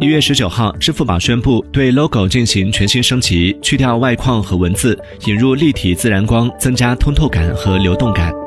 月19号，支付宝宣布对 logo 进行全新升级，去掉外框和文字，引入立体自然光，增加通透感和流动感。